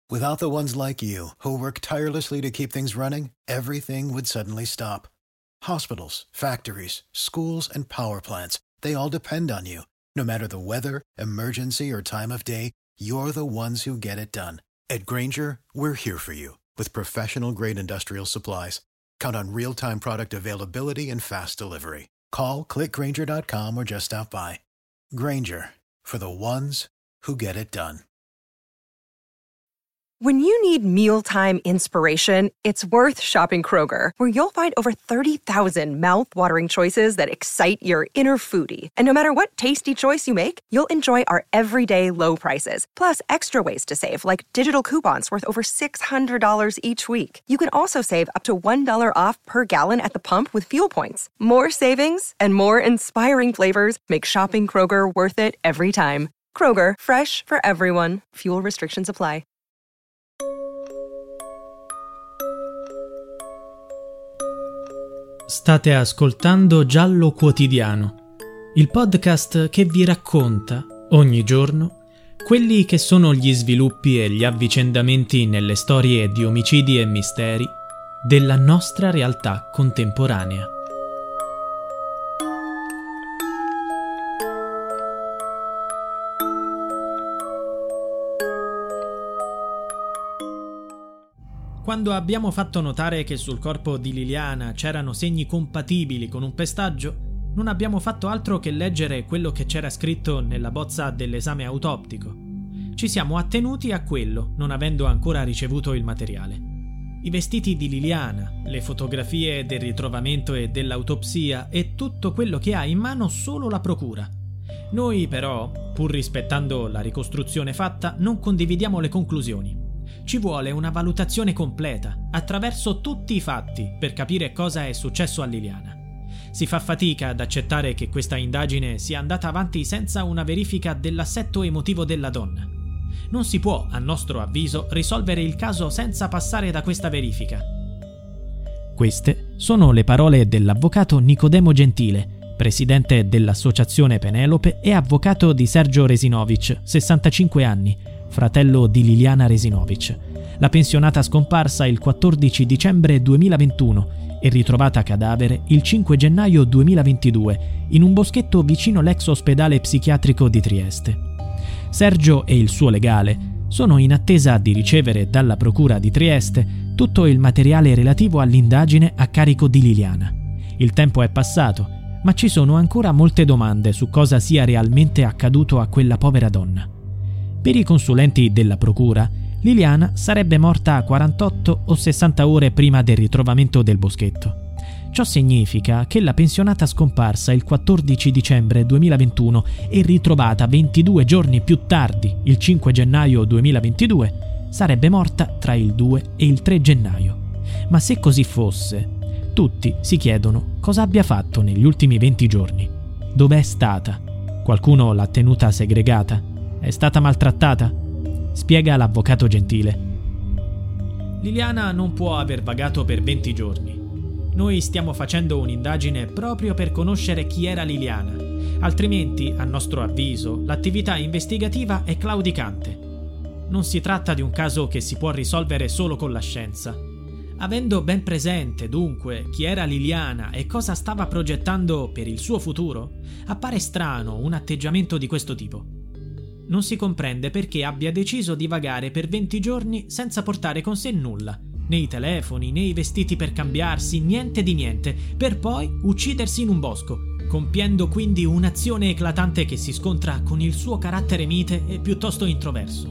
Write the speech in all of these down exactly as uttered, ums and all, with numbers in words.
Without the ones like you, who work tirelessly to keep things running, everything would suddenly stop. Hospitals, factories, schools, and power plants, they all depend on you. No matter the weather, emergency, or time of day, you're the ones who get it done. At Grainger, we're here for you with professional-grade industrial supplies. Count on real-time product availability and fast delivery. Call, click grainger dot com or just stop by. Grainger, for the ones who get it done. When you need mealtime inspiration, it's worth shopping Kroger, where you'll find over thirty thousand mouth-watering choices that excite your inner foodie. And no matter what tasty choice you make, you'll enjoy our everyday low prices, plus extra ways to save, like digital coupons worth over six hundred dollars each week. You can also save up to one dollar off per gallon at the pump with fuel points. More savings and more inspiring flavors make shopping Kroger worth it every time. Kroger, fresh for everyone. Fuel restrictions apply. State ascoltando Giallo Quotidiano, il podcast che vi racconta, ogni giorno, quelli che sono gli sviluppi e gli avvicendamenti nelle storie di omicidi e misteri della nostra realtà contemporanea. Quando abbiamo fatto notare che sul corpo di Liliana c'erano segni compatibili con un pestaggio, non abbiamo fatto altro che leggere quello che c'era scritto nella bozza dell'esame autoptico. Ci siamo attenuti a quello, non avendo ancora ricevuto il materiale. I vestiti di Liliana, le fotografie del ritrovamento e dell'autopsia e tutto quello che ha in mano solo la procura. Noi però, pur rispettando la ricostruzione fatta, non condividiamo le conclusioni. Ci vuole una valutazione completa, attraverso tutti i fatti, per capire cosa è successo a Liliana. Si fa fatica ad accettare che questa indagine sia andata avanti senza una verifica dell'assetto emotivo della donna. Non si può, a nostro avviso, risolvere il caso senza passare da questa verifica. Queste sono le parole dell'avvocato Nicodemo Gentile, presidente dell'Associazione Penelope e avvocato di Sergio Resinovic, sessantacinque anni, fratello di Liliana Resinovic, la pensionata scomparsa il quattordici dicembre duemilaventuno e ritrovata cadavere il cinque gennaio duemilaventidue in un boschetto vicino l'ex ospedale psichiatrico di Trieste. Sergio e il suo legale sono in attesa di ricevere dalla procura di Trieste tutto il materiale relativo all'indagine a carico di Liliana. Il tempo è passato, ma ci sono ancora molte domande su cosa sia realmente accaduto a quella povera donna. Per i consulenti della procura, Liliana sarebbe morta a quarantotto o sessanta ore prima del ritrovamento del boschetto. Ciò significa che la pensionata scomparsa il quattordici dicembre duemilaventuno e ritrovata ventidue giorni più tardi, il cinque gennaio duemilaventidue, sarebbe morta tra il due e il tre gennaio. Ma se così fosse, tutti si chiedono cosa abbia fatto negli ultimi venti giorni. Dov'è stata? Qualcuno l'ha tenuta segregata? È stata maltrattata? Spiega l'avvocato Gentile. Liliana non può aver vagato per venti giorni. Noi stiamo facendo un'indagine proprio per conoscere chi era Liliana. Altrimenti, a nostro avviso, l'attività investigativa è claudicante. Non si tratta di un caso che si può risolvere solo con la scienza. Avendo ben presente, dunque, chi era Liliana e cosa stava progettando per il suo futuro, appare strano un atteggiamento di questo tipo. Non si comprende perché abbia deciso di vagare per venti giorni senza portare con sé nulla, né i telefoni, né i vestiti per cambiarsi, niente di niente, per poi uccidersi in un bosco, compiendo quindi un'azione eclatante che si scontra con il suo carattere mite e piuttosto introverso.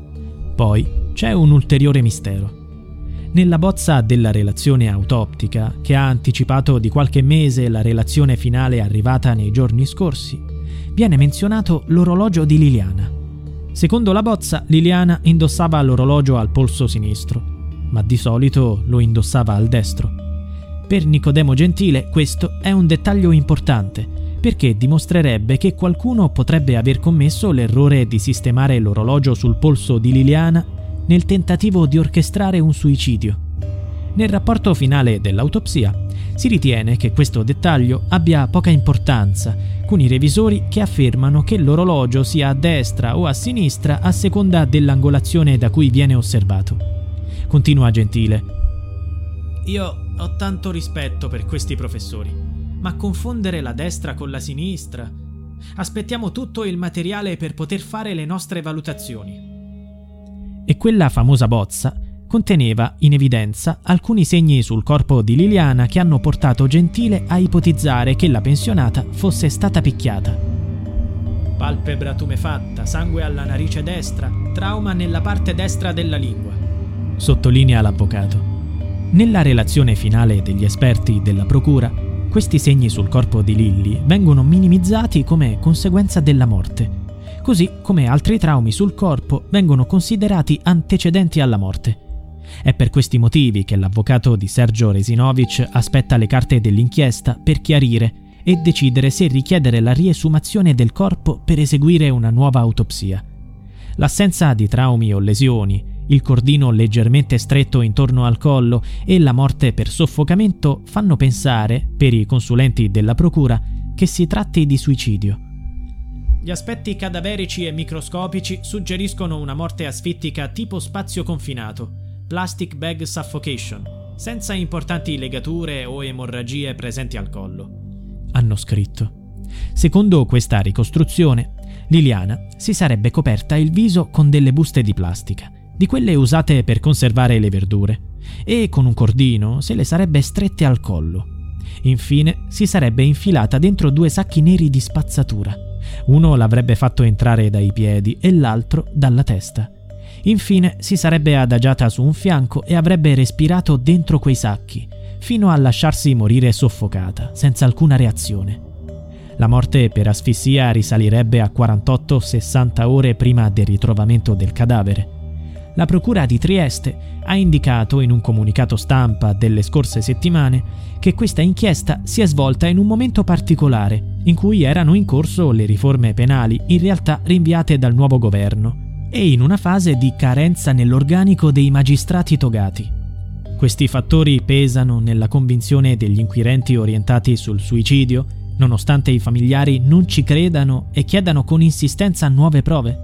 Poi c'è un ulteriore mistero. Nella bozza della relazione autoptica, che ha anticipato di qualche mese la relazione finale arrivata nei giorni scorsi, viene menzionato l'orologio di Liliana. Secondo la bozza, Liliana indossava l'orologio al polso sinistro, ma di solito lo indossava al destro. Per Nicodemo Gentile questo è un dettaglio importante, perché dimostrerebbe che qualcuno potrebbe aver commesso l'errore di sistemare l'orologio sul polso di Liliana nel tentativo di orchestrare un suicidio. Nel rapporto finale dell'autopsia si ritiene che questo dettaglio abbia poca importanza, con i revisori che affermano che l'orologio sia a destra o a sinistra a seconda dell'angolazione da cui viene osservato. Continua Gentile. Io ho tanto rispetto per questi professori, ma confondere la destra con la sinistra? Aspettiamo tutto il materiale per poter fare le nostre valutazioni. E quella famosa bozza conteneva in evidenza alcuni segni sul corpo di Liliana che hanno portato Gentile a ipotizzare che la pensionata fosse stata picchiata. Palpebra tumefatta, sangue alla narice destra, trauma nella parte destra della lingua, sottolinea l'avvocato. Nella relazione finale degli esperti della procura, questi segni sul corpo di Lilly vengono minimizzati come conseguenza della morte, così come altri traumi sul corpo vengono considerati antecedenti alla morte. È per questi motivi che l'avvocato di Sergio Resinovic aspetta le carte dell'inchiesta per chiarire e decidere se richiedere la riesumazione del corpo per eseguire una nuova autopsia. L'assenza di traumi o lesioni, il cordino leggermente stretto intorno al collo e la morte per soffocamento fanno pensare, per i consulenti della procura, che si tratti di suicidio. Gli aspetti cadaverici e microscopici suggeriscono una morte asfittica tipo spazio confinato, plastic bag suffocation, senza importanti legature o emorragie presenti al collo, hanno scritto. Secondo questa ricostruzione, Liliana si sarebbe coperta il viso con delle buste di plastica, di quelle usate per conservare le verdure, e con un cordino se le sarebbe strette al collo. Infine si sarebbe infilata dentro due sacchi neri di spazzatura. Uno l'avrebbe fatto entrare dai piedi e l'altro dalla testa. Infine si sarebbe adagiata su un fianco e avrebbe respirato dentro quei sacchi, fino a lasciarsi morire soffocata, senza alcuna reazione. La morte per asfissia risalirebbe a quarantotto sessanta ore prima del ritrovamento del cadavere. La procura di Trieste ha indicato in un comunicato stampa delle scorse settimane che questa inchiesta si è svolta in un momento particolare, in cui erano in corso le riforme penali in realtà rinviate dal nuovo governo, e in una fase di carenza nell'organico dei magistrati togati. Questi fattori pesano nella convinzione degli inquirenti orientati sul suicidio, nonostante i familiari non ci credano e chiedano con insistenza nuove prove.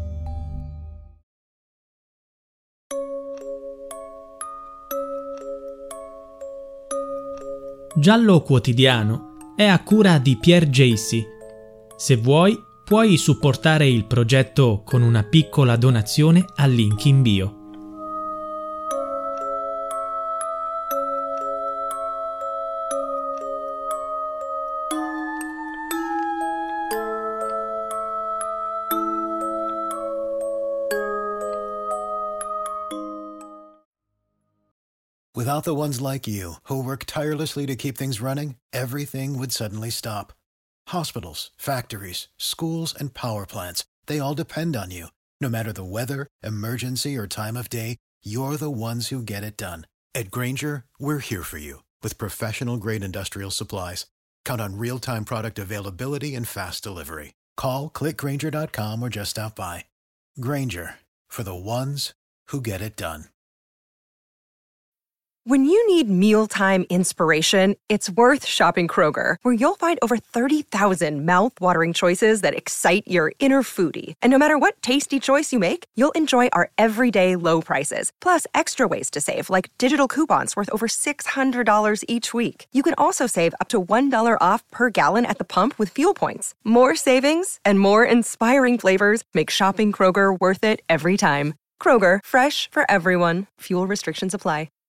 Giallo Quotidiano è a cura di Pierre Jacy. Se vuoi, puoi supportare il progetto con una piccola donazione al link in bio. Without the ones like you, who work tirelessly to keep things running, everything would suddenly stop. Hospitals, factories, schools, and power plants, they all depend on you. No matter the weather, emergency, or time of day, you're the ones who get it done. At Grainger, we're here for you with professional-grade industrial supplies. Count on real-time product availability and fast delivery. Call, click grainger dot com, or just stop by. Grainger, for the ones who get it done. When you need mealtime inspiration, it's worth shopping Kroger, where you'll find over thirty thousand mouth-watering choices that excite your inner foodie. And no matter what tasty choice you make, you'll enjoy our everyday low prices, plus extra ways to save, like digital coupons worth over six hundred dollars each week. You can also save up to one dollar off per gallon at the pump with fuel points. More savings and more inspiring flavors make shopping Kroger worth it every time. Kroger, fresh for everyone. Fuel restrictions apply.